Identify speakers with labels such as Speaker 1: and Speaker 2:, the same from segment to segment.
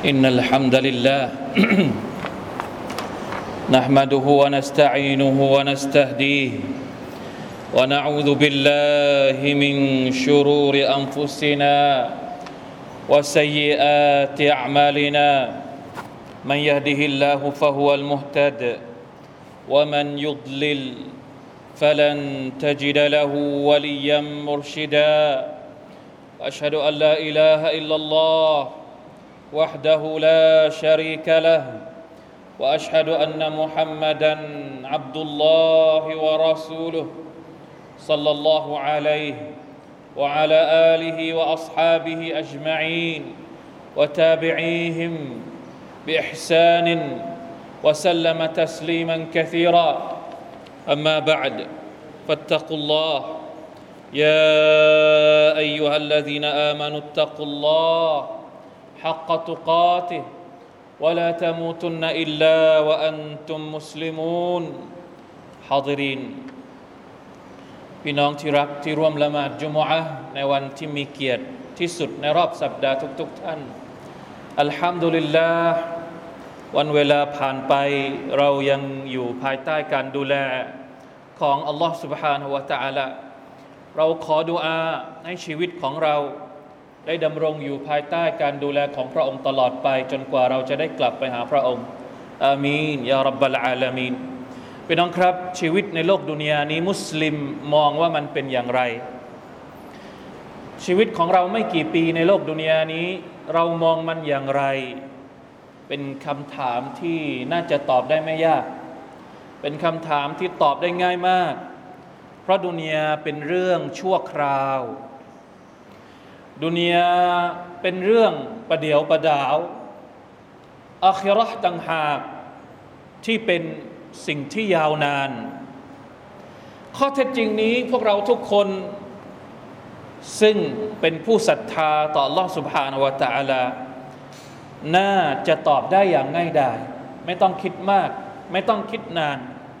Speaker 1: إن الحمد لله نحمده ونستعينه ونستهديه ونعوذ بالله من شرور أنفسنا وسيئات أعمالنا من يهده الله فهو المهتد ومن يضلل فلن تجد له وليا مرشدا وأشهد أن لا إله إلا الله وحده لا شريك له وأشهد أن محمدا عبد الله ورسوله صلى الله عليه وعلى آله وأصحابه أجمعين وتابعيهم بإحسان وسلم تسليما كثيرا أما بعد فاتقوا الله يا أيها الذين آمنوا اتقوا الله حق تقاته ولا تموتن إلا وأنتم مسلمون حاضرين พี่น้องที่รักที่ร่วมละหมาดจุมอะห์ในวันที่มีเกียรติที่สุดในรอบสัปดาห์ทุกท่านอัลฮัมดุลิลลาห์วันเวลาผ่านไปเรายังอยู่ภายใต้การดูแลของอัลลอฮฺ سبحانه และ تعالى เราขอดุอาให้ชีวิตของเราได้ดำรงอยู่ภายใต้การดูแลของพระองค์ตลอดไปจนกว่าเราจะได้กลับไปหาพระองค์อามีนยารับบลอาลามีนพี่น้องครับชีวิตในโลกดุนยานี้มุสลิมมองว่ามันเป็นอย่างไรชีวิตของเราไม่กี่ปีในโลกดุนยานี้เรามองมันอย่างไรเป็นคำถามที่น่าจะตอบได้ไม่ยากเป็นคำถามที่ตอบได้ง่ายมากเพราะดุนยาเป็นเรื่องชั่วคราวดุนยาเป็นเรื่องประเดี๋ยวประดาวอาคิเราะห์ต่างหากที่เป็นสิ่งที่ยาวนานข้อเท็จจริงนี้พวกเราทุกคนซึ่งเป็นผู้ศรัทธาต่อ Allah Subhanahu wa Ta'ala น่าจะตอบได้อย่างง่ายดายไม่ต้องคิดมากไม่ต้องคิดนาน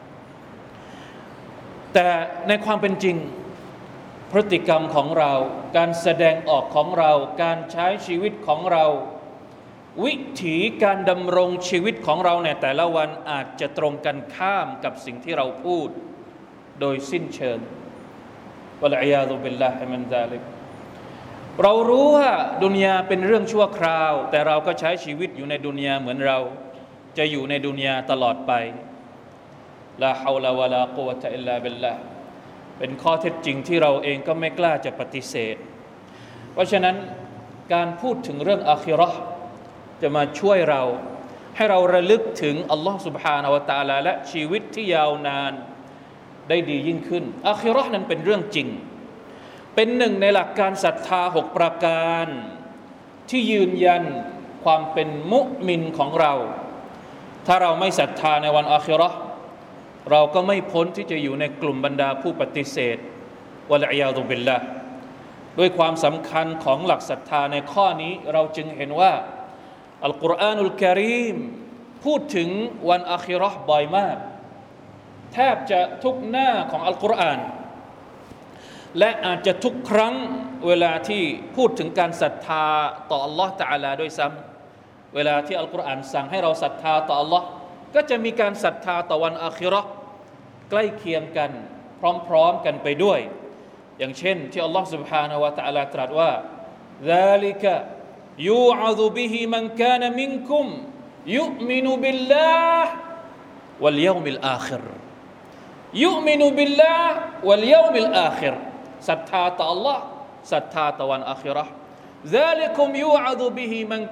Speaker 1: แต่ในความเป็นจริงพฤติกรรมของเราการแสดงออกของเราการใช้ชีวิตของเราวิถีการดำรงชีวิตของเราในแต่ละวันอาจจะตรงกันข้ามกับสิ่งที่เราพูดโดยสิ้นเชิงวะลัยยาซุบิลลาฮิมินซาลิกเรารู้ว่าดุนยาเป็นเรื่องชั่วคราวแต่เราก็ใช้ชีวิตอยู่ในดุนยาเหมือนเราจะอยู่ในดุนยาตลอดไปลาฮาวลาวะลากุวะตะอิลลาบิลลาห์เป็นข้อเท็จจริงที่เราเองก็ไม่กล้าจะปฏิเสธเพราะฉะนั้นการพูดถึงเรื่องอาคิเราะห์จะมาช่วยเราให้เราระลึกถึงอัลลอฮฺ سبحانه และ تعالى และชีวิตที่ยาวนานได้ดียิ่งขึ้นอาคิเราะห์นั้นเป็นเรื่องจริงเป็นหนึ่งในหลักการศรัทธา6ประการที่ยืนยันความเป็นมุมินของเราถ้าเราไม่ศรัทธาในวันอาคิเราะห์เราก็ไม่พ้นที่จะอยู่ในกลุ่มบรรดาผู้ปฏิเสธวะลัยยาซุบิลลาห์ด้วยความสำคัญของหลักศรัทธาในข้อนี้เราจึงเห็นว่าอัลกุรอานุลกะรีมพูดถึงวันอาคิเราะห์บ่อยมากแทบจะทุกหน้าของอัลกุรอานและอาจจะทุกครั้งเวลาที่พูดถึงการศรัทธาต่ออัลลอฮฺตะอาลาด้วยซ้ำเวลาที่อัลกุรอานสั่งให้เราศรัทธาต่ออัลลอฮฺก็จะมีการศรัทธาต่อวันอาคิเราะห์ใกล้เคียงกันพร้อมๆกันไปด้วยอย่างเช่นที่อัลลอฮฺ سبحانه และ تعالى ตรัสว่า ذلك يوعظ به من كان منكم يؤمن بالله واليوم الآخر يؤمن بالله واليوم الآخر ศรัทธาต่อ Allah ศรัทธาต่อวันอาคิเราะห์ ذلكم يوعظ به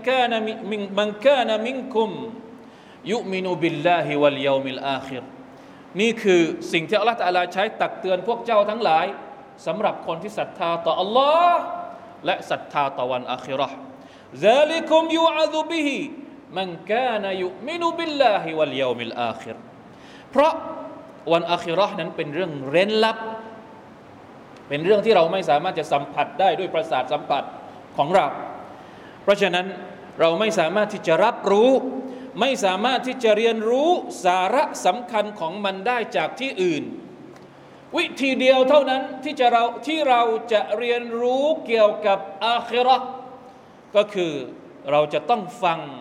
Speaker 1: من كان منكمยุมินุบิลลาฮิวัลยอมิลอาคิรนี่คือสิ่งที่อัลเลาะห์ตะอาลาใช้ตักเตือนพวกเจ้าทั้งหลายสำหรับคนที่ศรัทธาต่ออัลลอฮ์และศรัทธาต่อวันอาคิเราะห์ซาลิกุมยูอะซุบิฮิมันกานะยุมินุบิลลาฮิวัลยอมิลอาคิรเพราะวันอาคิเราะห์นั้นเป็นเรื่องเร้นลับเป็นเรื่องที่เราไม่สามารถจะสัมผัสได้ด้วยประสาทสัมผัสของเราเพราะฉะนั้นเราไม่สามารถที่จะรับรู้ไม่สามารถที่จะเรียนรู้สาระสำคัญของมันได้จากที่อื่นวิธีเดียวเท่านั้นที่เราจะเรียนรู้เกี่ยวกับอาคิเราะห์ก็คือเราจะต้องฟัง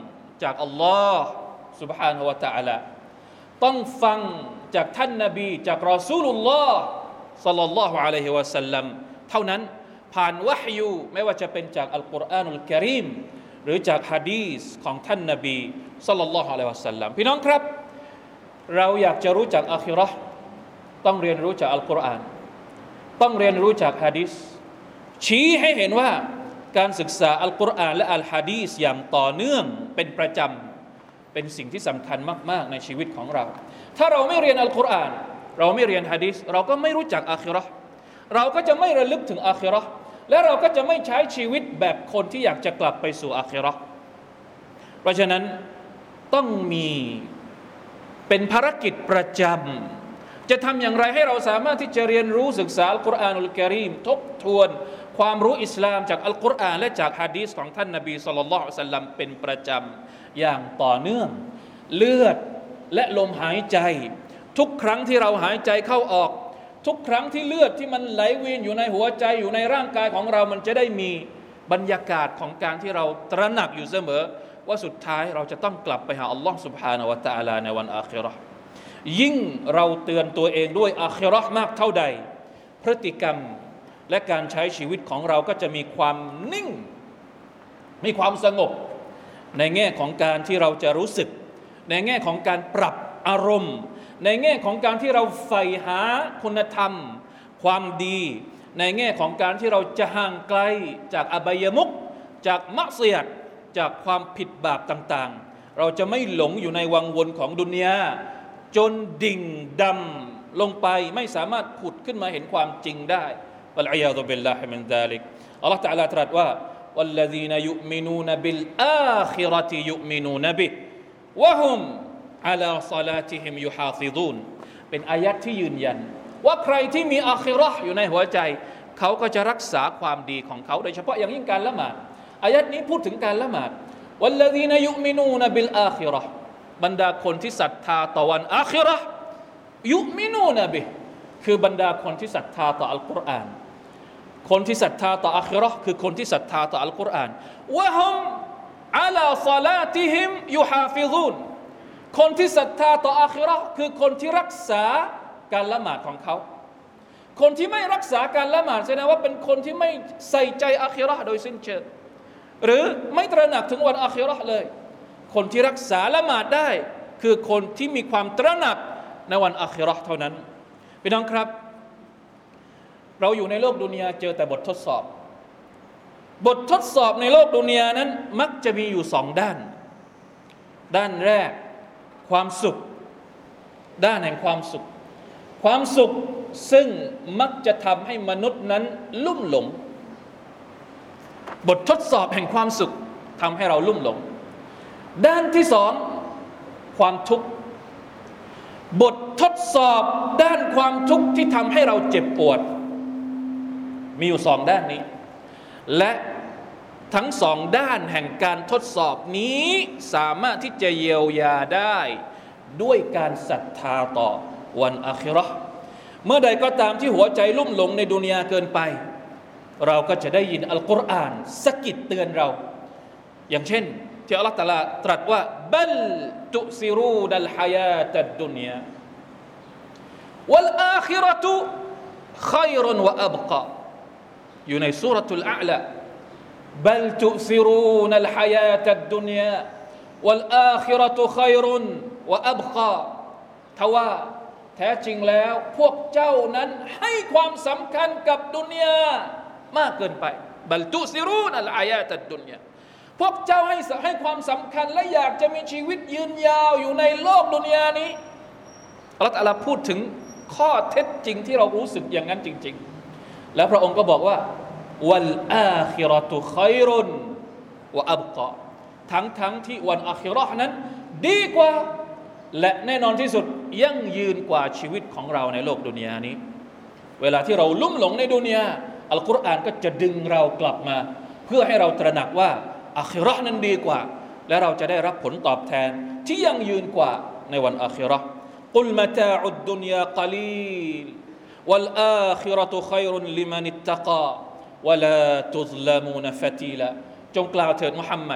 Speaker 1: จากอัลลอฮ์ سبحانه และ تعالى ต้องฟังจากท่านนบีจากรอซูลุลลอฮ์ศ็อลลัลลอฮุอะลัยฮิวะซัลลัมเท่านั้นผ่านวะฮยูไม่ว่าจะเป็นจากอัลกุรอานุลกะรีมหรือจากหะดีษของท่านนบีศ็อลลัลลอฮุอะลัยฮิวะซัลลัมพี่น้องครับเราอยากจะรู้จักอาคิเราะห์ต้องเรียนรู้จากอัลกุรอานต้องเรียนรู้จากหะดีษชี้ให้เห็นว่าการศึกษาอัลกุรอานและอัลหะดีษอย่างต่อเนื่องเป็นประจำเป็นสิ่งที่สำคัญมากๆในชีวิตของเราถ้าเราไม่เรียนอัลกุรอานเราไม่เรียนหะดีษเราก็ไม่รู้จักอาคิเราะห์เราก็จะไม่ระลึกถึงอาคิเราะห์และเราก็จะไม่ใช้ชีวิตแบบคนที่อยากจะกลับไปสู่อาคิเราะห์เพราะฉะนั้นต้องมีเป็นภารกิจประจำจะทำอย่างไรให้เราสามารถที่จะเรียนรู้ศึกษาอัลกุรอานุลกะรีมทบทวนความรู้อิสลามจากอัลกุรอานและจากหะดีษของท่านนบีศ็อลลัลลอฮุอะลัยฮิวะซัลลัมเป็นประจำอย่างต่อเนื่องเลือดและลมหายใจทุกครั้งที่เราหายใจเข้าออกทุกครั้งที่เลือดที่มันไหลเวียนอยู่ในหัวใจอยู่ในร่างกายของเรามันจะได้มีบรรยากาศของการที่เราตระหนักอยู่เสมอว่าสุดท้ายเราจะต้องกลับไปหาอัลลอฮ์ سبحانه และ تعالى ในวันอาคิเราะห์ยิ่งเราเตือนตัวเองด้วยอาคิเราะห์มากเท่าใดพฤติกรรมและการใช้ชีวิตของเราก็จะมีความนิ่งมีความสงบในแง่ของการที่เราจะรู้สึกในแง่ของการปรับอารมณ์ในแง่ของการที่เราใฝ่หาคุณธรรมความดีในแง่ของการที่เราจะห่างไกลจากอบายมุขจากมักซิยะห์จากความผิดบาปต่างๆเราจะไม่หลงอยู่ในวังวนของดุนยาจนดิ่งดำลงไปไม่สามารถผุดขึ้นมาเห็นความจริงได้วัลอียาซุบิลลาฮิมินซาลิกอัลเลาะห์ตะอาลาตรัสว่าวัลลซีนยุมินูนบิลอาคิเราะติยุมินูนบิฮิวะฮุมอะลาศอลาติฮิมยุฮาฟิซูนเป็นอายัดที่ยืนยันว่าใครที่มีอาคิเราะห์อยู่ในหัวใจเขาก็จะรักษาความดีของเขาโดยเฉพาะอย่างยิ่งการละหมาดอายัดนี้พูดถึงการละหมาดวัลลซีนยุมินูนบิลอาคิเราะห์บรรดาคนที่ศรัทธาต่อวันอาคิเราะห์ยุมินูนบิฮิคือบรรดาคนที่ศรัทธาต่ออัลกุรอานคนที่ศรัทธาต่ออาคิเราะห์คือคนที่ศรัทธาต่ออัลกุรอานวะฮุมอะลาศอลาติฮิมยุฮาฟิซูนคนที่ศรัทธาต่ออาคิเราะห์คือคนที่รักษาการละหมาดของเขาคนที่ไม่รักษาการละหมาดแสดงว่าเป็นคนที่ไม่ใส่ใจอาคิเราะห์โดยสิ้นเชิงหรือไม่ตระหนักถึงวันอาคิเราะห์เลยคนที่รักษาละหมาดได้คือคนที่มีความตระหนักในวันอาคิเราะห์เท่านั้นพี่น้องครับเราอยู่ในโลกดุนยาเจอแต่บททดสอบบททดสอบในโลกดุนยานั้นมักจะมีอยู่สองด้านด้านแรกความสุขด้านแห่งความสุขความสุขซึ่งมักจะทำให้มนุษย์นั้นลุ่มหลงบททดสอบแห่งความสุขทำให้เราลุ่มหลงด้านที่สองความทุกข์บททดสอบด้านความทุกข์ที่ทำให้เราเจ็บปวดมีอยู่สองด้านนี้และทั้งสองด้านแห่งการทดสอบนี้สามารถที่จะเยียวยาได้ด้วยการศรัทธาต่อวันอาคิเราะห์เมื่อใดก็ตามที่หัวใจลุ่มหลงในดุนยาเกินไปเราก็จะได้ยินอัลกุรอานสะกิดเตือนเราอย่างเช่นที่อัลเลาะห์ตะอาลาตรัสว่าบัลตุซิรูนัลฮายาตัดดุนยาวัลอาคิเราะตุค็อยรุนวะอับกาอยู่ในซูเราะตุลอาลาบัลตุซิรูนัลฮายาตัดดุนยาวัลอาคิเราะตุค็อยรุนวะอับกาทว่าแท้จริงแล้วพวกเจ้านั้นให้ความสำคัญกับดุนยามากเกินไปบัลตุซิรูนัลฮายาตัดดุนยาพวกเจ้าให้ความสำคัญและอยากจะมีชีวิตยืนยาวอยู่ในโลกดุนยานี้อัลเลาะห์ตะอาลาพูดถึงข้อเท็จจริงที่เรารู้สึกอย่างนั้นจริงๆแล้วพระองค์ก็บอกว่าวัลอาคิเราะตุค็อยรุนวะอับกาทั้งที่วันอาคิเราะห์นั้นดีกว่าและแน่นอนที่สุดยั่งยืนกว่าชีวิตของเราในโลกดุนยานี้เวลาที่เราลุ่มหลงในดุนยาอัลกุรอานก็จะดึงเรากลับมาเพื่อให้เราตระหนักว่าอาคิเราะห์นั้นดีกว่าและเราจะได้รับผลตอบแทนที่ยั่งยืนกว่าในวันอาคิเราะห์กุลมะตาอุดดุนยากะลีลวัลอาคิเราะตุค็อยรุนลิมันอิตตะกาวะลาตุซละมูนฟะตีลาจงกล่าวเถิดมุฮัมมัด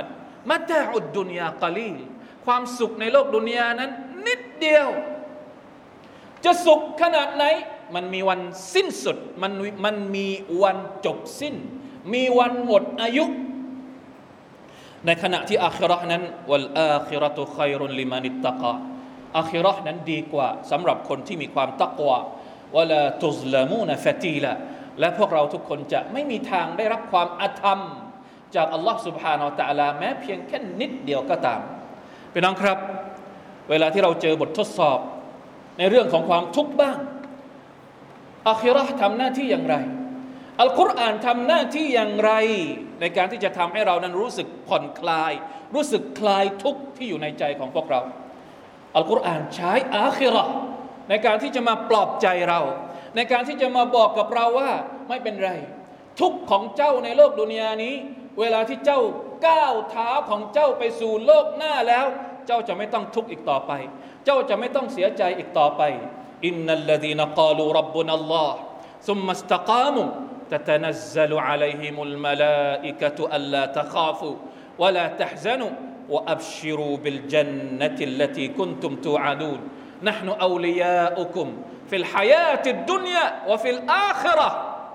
Speaker 1: มะตาอุดดุนยากะลีลความสุขในโลกดุนยานั้นนิดเดียวจะสุขขนาดไหนมันมีวันสิ้นสุดมันมีวันจบสิ้นมีวันหมดอายุในขณะที่อาคิเราะห์นั้นวัลอาคิเราะตุค็อยรุนลิมันิตตะกาอาคิเราะห์นั้นดีกว่าสำหรับคนที่มีความตักวาวะลาตุซละมูนฟะตีลาและพวกเราทุกคนจะไม่มีทางได้รับความอาธรรมจากอัลลอฮ์ سبحانه และ تعالى แม้เพียงแค่นิดเดียวก็ตามพี่น้องครับเวลาที่เราเจอบททดสอบในเรื่องของความทุกข์บ้างอาคิเราะห์ทำหน้าที่อย่างไรอัลกุรอานทำหน้าที่อย่างไรในการที่จะทำให้เรานั้นรู้สึกผ่อนคลายรู้สึกคลายทุกข์ที่อยู่ในใจของพวกเราอัลกุรอานใช้อาคิเราะห์ในการที่จะมาปลอบใจเราในการที่จะมาบอกกับเราว่าไม่เป็นไรทุกข์ของเจ้าในโลกดุนยานี้เวลาที่เจ้าก้าวเท้าของเจ้าไปสู่โลกหน้าแล้วเจ้าจะไม่ต้องทุกข์อีกต่อไปเจ้าจะไม่ต้องเสียใจอีกต่อไปอินนัลลซีนกาลูร็อบบุนัลลอฮ์ซุมมัสตะกามูتتنزل عليهم الملائكة ألا تخافوا ولا تحزنوا وأبشروا بالجنة التي كنتم توعدون نحن أولياؤكم في الحياة الدنيا وفي الآخرة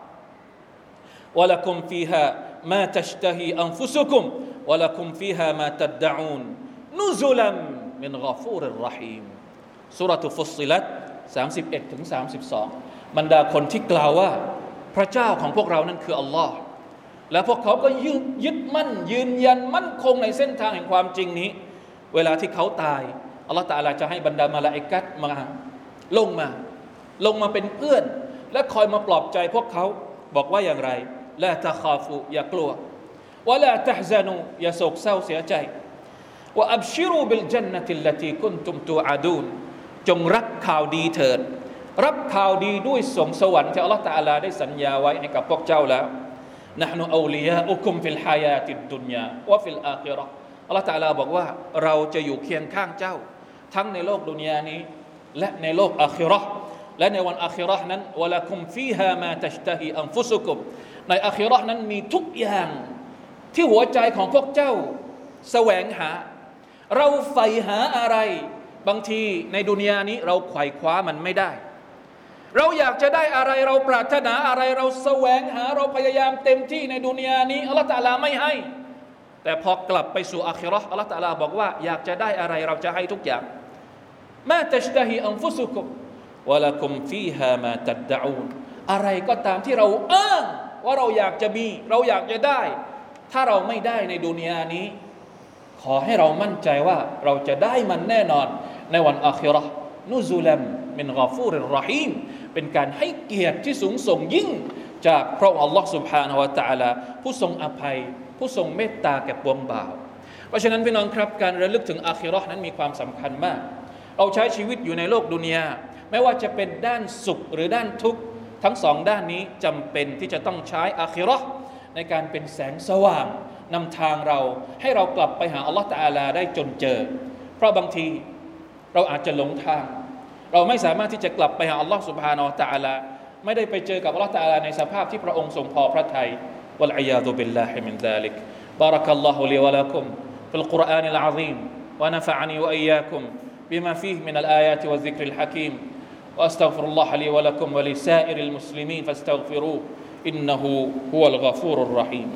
Speaker 1: ولكم فيها ما تشتهي أنفسكم ولكم فيها ما تدعون نزلا من غفور رحيم سورة فصلت 31-32 บรรดาคนที่กล่าวว่าพระเจ้าของพวกเรานั้นคืออัลลอฮ์และพวกเขาก็ยึดมั่นยืนยันมั่นคงในเส้นทางแห่งความจริงนี้เวลาที่เขาตายอัลลอฮ์ตะอาลาจะให้บรรดามาลาอิกะฮ์มาลงมาเป็นเพื่อนและคอยมาปลอบใจพวกเขาบอกว่าอย่างไรลาตะคาฟูอย่ากลัววะลาตะฮซานูอย่าโศกเศร้าเสียใจวะอับชิรูบิลญันนะติลลตีกุนตุมตูอาดูนจงรับข่าวดีเถิดรับข่าวดีด้วยสมสวรรค์ที่อัลลอฮฺตะอาลาได้สัญญาไว้ให้กับพวกเจ้าแล้วนะห์นุเอาลิยาอุคุมฟิลฮายาติดดุนยาวะฟิลอาคิเราะห์อัลลอฮฺตะอาลาบอกว่าเราจะอยู่เคียงข้างเจ้าทั้งในโลกดุนยานี้และในโลกอาคิเราะห์และในวันอาคิเราะห์นั้นวะละกุมฟีฮามาตัชตะฮีอันฟุซุกุมในอาคิเราะห์นั้นมีทุกอย่างที่หัวใจของพวกเจ้าแสวงหาเราใฝ่หาอะไรบางทีในดุนยานี้เราไขว่คว้ามันไม่ได้เราอยากจะได้อะไรเราปรารถนาอะไรเราแสวงหาเราพยายามเต็มที่ในดุนยานี้อัลเลาะห์ตะอาลาไม่ให้แต่พอกลับไปสู่อาคิเราะห์อัลเลาะห์ตะอาลาบอกว่าอยากจะได้อะไรเราจะให้ทุกอย่างมาตัชตะฮีอันฟุซุกุมวะละกุมฟีฮามาตัดดะอูนอะไรก็ตามที่เราอ้างว่าเราอยากจะมีเราอยากจะได้ถ้าเราไม่ได้ในดุนยานี้ขอให้เรามั่นใจว่าเราจะได้มันแน่นอนในวันอาคิเราะห์นุซุลัมมินฆอฟูริรเราะฮีมเป็นการให้เกียรติที่สูงส่งยิ่งจากพระองค์อัลลอฮ์ سبحانه และ تعالى ผู้ทรงอภัยผู้ทรงเมตตาแก่ปวงบ่าวเพราะฉะนั้นพี่น้องครับการระลึกถึงอาคิเราะห์นั้นมีความสำคัญมากเราใช้ชีวิตอยู่ในโลกดุนยาไม่ว่าจะเป็นด้านสุขหรือด้านทุกข์ทั้งสองด้านนี้จำเป็นที่จะต้องใช้อาคิเราะห์ในการเป็นแสงสว่างนำทางเราให้เรากลับไปหาอัลลอฮ์ตะอาลาได้จนเจอเพราะบางทีเราอาจจะหลงทางเราไม่สามารถที่จะกลับไปหาอัลลอฮ์ سبحانه และ تعالى ไม่ได้ไปเจอกับอัลลอฮ์ تعالى ในสภาพที่พระองค์ทรงพอพระทัยวัลอียาซุบิลลาฮิมินซาลิกบารักัลลอฮุลีวะลากุมฟิลกุรอานิลอะซีมวะนะฟะอะนีวะอียากุมบิมาฟีฮิมินัลอายาติวะซิกริลฮะกีมวะอัสตัฆฟิรุลลอฮะลีวะลากุมวะลิซาอิริลมุสลิมีนฟัสตัฆฟิรูอินนะฮูฮุวัลฆอฟูรุรเราะฮีม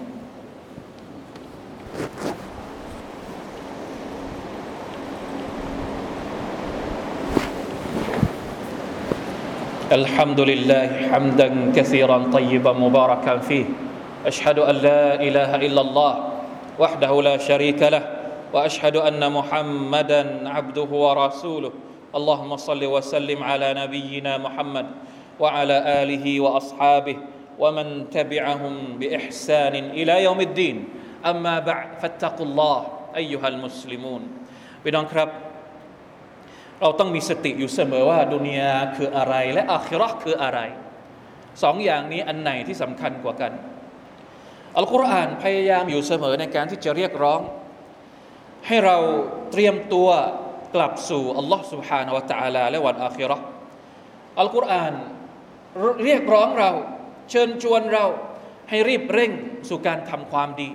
Speaker 1: الحمد لله حمدا كثيرا طيبا مباركا فيه أشهد أن لا إله إلا الله وحده لا شريك له وأشهد أن محمدا عبده ورسوله اللهم صل وسلم على نبينا محمد وعلى آله وأصحابه ومن تبعهم بإحسان إلى يوم الدين أما بعد فاتقوا الله أيها المسلمون พี่น้องครับเราต้องมีสติอยู่เสมอว่าดุนยาคืออะไรและอาคิเราะห์คืออะไรสองอย่างนี้อันไหนที่สำคัญกว่ากันอัลกุรอานพยายามอยู่เสมอในการที่จะเรียกร้องให้เราเตรียมตัวกลับสู่อัลลอฮ์ سبحانه และ تعالى และวันอาคิเราะห์อัลกุรอานเรียกร้องเราเชิญชวนเราให้รีบเร่งสู่การทำความดี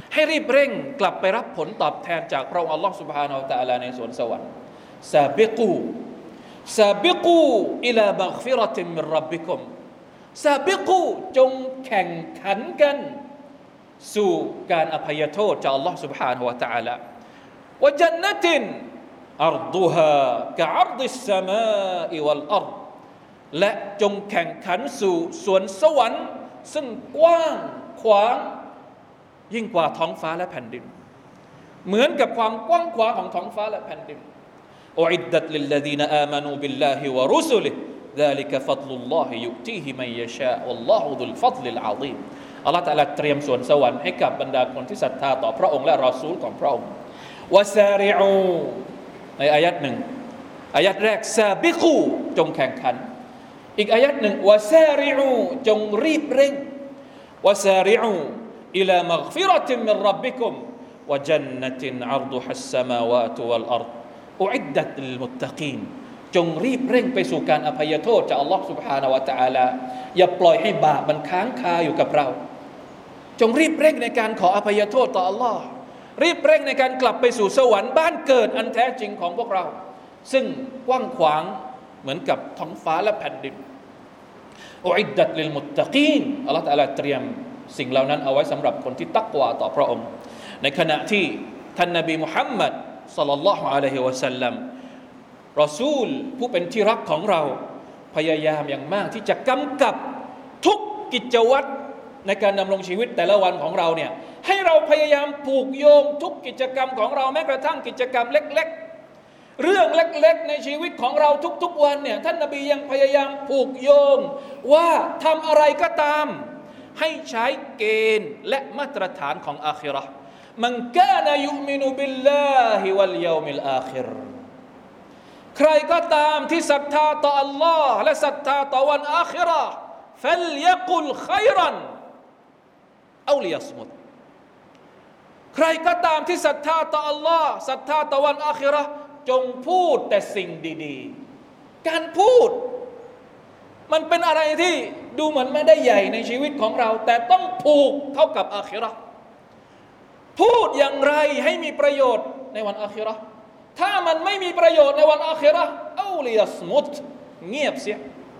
Speaker 1: ให้รีบเร่งกลับไปรับผลตอบแทนจากพระองค์อัลลอฮฺ سبحانه และ تعالى ในสวนสวรรค์ซาบิกูอิลามัฆฟิเราะตินมินร็อบบิกุมซาบิกูจงแข่งขันกันสู่การอภัยโทษจากอัลลอฮฺ سبحانه และ تعالى วะญันนะตินอัรฎุฮากะอัรฎิสสมาอิวัลอัรฎและจงแข่งขันสู่สวนสวรรค์ซึ่งกว้างขวางยิ่งกว่าท้องฟ้าและแผ่นดินเหมือนกับความกว้างขวางของท้องฟ้าและแผ่นดินอุอิดดัตลิลลซีนอามานูบิลลาฮิวะรุสุลิฮิذلك فضل الله يؤتيه من يشاء والله ذو الفضل العظيم อัลเลาะห์ตะอาลาเตรียมสวนสวรรค์ให้กับบรรดาคนที่ศรัทธาต่อพระองค์และรอซูลของพระองค์วะซาริอูในอายัดหนึ่งอายัดแรกซาบิกูจงแข่งขันอีกอายัดหนึ่งวะซาริอูจงรีบเร่งวะซาริอูอิลามัฆฟิเราะตินมินร็อบบิกุมวะญันนะตินอัรฎุฮัสสมาวาตุวัลอัรฎอุอิดดัตลิลมุตตะกีนจงรีบเร่งไปสู่การอภัยโทษจากอัลลอฮฺ سبحانه และ تعالى อย่าปล่อยให้บาปมันค้างคาอยู่กับเราจงรีบเร่งในการขออภัยโทษต่ออัลลอฮ์รีบเร่งในการกลับไปสู่สวรรค์บ้านเกิดอันแท้จริงของพวกเราซึ่งกว้างขวางเหมือนกับท้องฟ้าและแผ่นดินอุอิดดัตลิลมุตตะกีนอัลลอฮฺ تعالى เตรียมสิ่งเหล่านั้นเอาไว้สำหรับคนที่ตักวาต่อพระองค์ในขณะที่ท่านนบีมุฮัมมัดศ็อลลัลลอฮุอะลัยฮิวะซัลลัมรอซูลผู้เป็นที่รักของเราพยายามอย่างมากที่จะกำกับทุกกิจวัตรในการดำรงชีวิตแต่ละวันของเราเนี่ยให้เราพยายามผูกโยงทุกกิจกรรมของเราแม้กระทั่งกิจกรรมเล็กๆเรื่องเล็กๆในชีวิตของเราทุกๆวันเนี่ยท่านนบียังพยายามผูกโยงว่าทำอะไรก็ตามให้ใช้เกณฑ์และมาตรฐานของอาคิเราะห์มันกานะยุมินุบิลลาฮิวัลยอมิลอาคิรใครก็ตามที่ศรัทธาต่ออัลลอฮ์และศรัทธาต่อวันอาคิเราะห์ฟัลยะกุลค็อยรันเอาลิยัศมุตใครก็ตามที่ศรัทธาต่ออัลลอฮ์ศรัทธาต่อวันอาคิเราะห์จงพูดแต่สิ่งดีๆการพูดมันเป็นอะไรที่ดูเหมือนไม่ได้ใหญ่ในชีวิตของเราแต่ต้องผูกเข้ากับอาคิเราะห์พูดอย่างไรให้มีประโยชน์ในวันอาคิเราะห์ถ้ามันไม่มีประโยชน์ในวันอาคิเราะห์เอาลิยัศมุตเงียบเสีย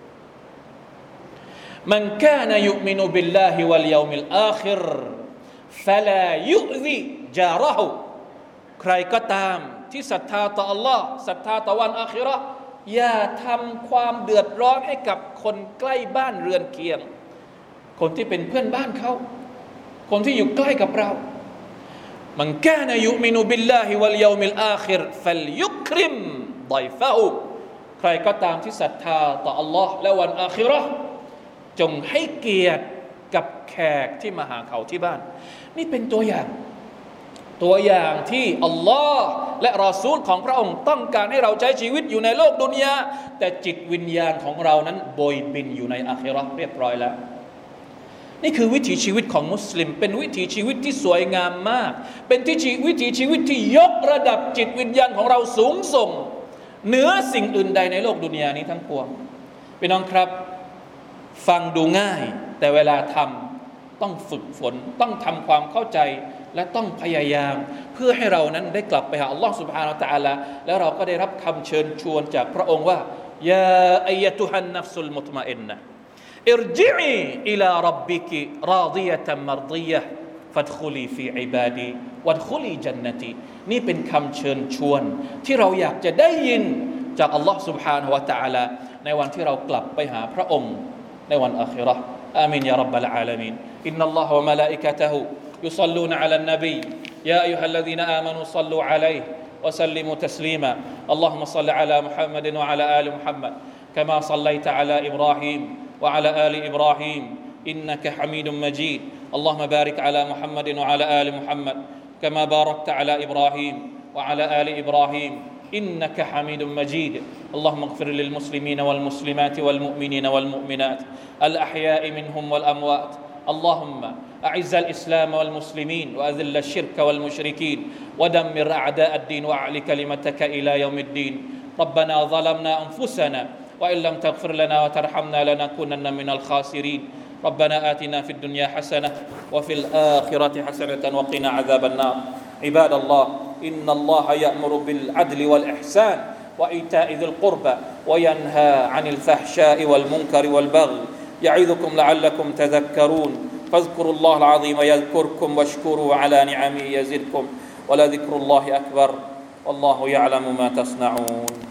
Speaker 1: มันกานะยุมินุบิลลาฮิวัลยอมิลอาคิรฟะลายุซิจาระฮูใครก็ตามที่ศรัทธาต่ออัลลอฮ์ศรัทธาต่อวันอาคิเราะห์อย่าทำความเดือดร้อนให้กับคนใกล้บ้านเรือนเคียงคนที่เป็นเพื่อนบ้านเขาคนที่อยู่ใกล้กับเรามันกานะยุมินุบิลลาฮิวัลยอมิลอาคิรฟัลยุคริมฎอยฟะฮูใครก็ตามที่ศรัทธาต่ออัลลอฮ์และวันอาคิเราะห์จงให้เกียรติกับแขกที่มาหาเขาที่บ้านนี่เป็นตัวอย่างที่อัลลอฮ์และรอซูลของพระองค์ต้องการให้เราใช้ชีวิตอยู่ในโลกดุนยาแต่จิตวิญญาณของเรานั้นโบยบินอยู่ในอาคิเราะห์เรียบร้อยแล้วนี่คือวิถีชีวิตของมุสลิมเป็นวิถีชีวิตที่สวยงามมากเป็นวิถีชีวิตที่ยกระดับจิตวิญญาณของเราสูงส่งเหนือสิ่งอื่นใดในโลกดุนยานี้ทั้งปวงพี่น้องครับฟังดูง่ายแต่เวลาทำต้องฝึกฝนต้องทำความเข้าใจและต้องพยายามเพื่อให้เรานั้นได้กลับไปหาอัลลอฮฺ سبحانه และ تعالى แล้วเราก็ได้รับคำเชิญชวนจากพระองค์ว่ายาอัยตุฮันนัฟซุลมุตมะอินนะอิรญิอีอิลาร็อบบิกิราฎิยะตัมมัรฎิยะห์ฟัดคุลีฟีอิบาดีวัดคุลีญันนตีนี่เป็นคำเชิญชวนที่เราอยากจะได้ยินจากอัลลอฮฺ سبحانه และ تعالى ในวันที่เรากลับไปหาพระองค์ในวันอาคิเราะห์อามีนยาร็อบบัลอาลามีนอินนัลลอฮะวะมะลาอิกะตะฮูيصلون على النبي يا أيها الذين آمنوا صلوا عليه وسلموا تسليما اللهم صل على محمد وعلى آل محمد كما صليت على إبراهيم وعلى آل إبراهيم إنك حميد مجيد اللهم بارك على محمد وعلى آل محمد كما باركت على إبراهيم وعلى آل إبراهيم إنك حميد مجيد اللهم اغفر للمسلمين والمسلمات والمؤمنين والمؤمنات الأحياء منهم والأموات اللهم أعز الإسلام والمسلمين وأذل الشرك والمشركين ودمر أعداء الدين وأعل كلمتك إلى يوم الدين ربنا ظلمنا أنفسنا وإن لم تغفر لنا وترحمنا لنكونن من الخاسرين ربنا آتنا في الدنيا حسنة وفي الآخرة حسنة وقنا عذاب النار عباد الله إن الله يأمر بالعدل والإحسان وإيتاء ذي القربى وينهى عن الفحشاء والمنكر والبغي يعظكم لعلكم تذكرون فاذكروا الله العظيم يذكركم واشكروا على نعمه يزدكم ولذكر الله أكبر والله يعلم ما تصنعون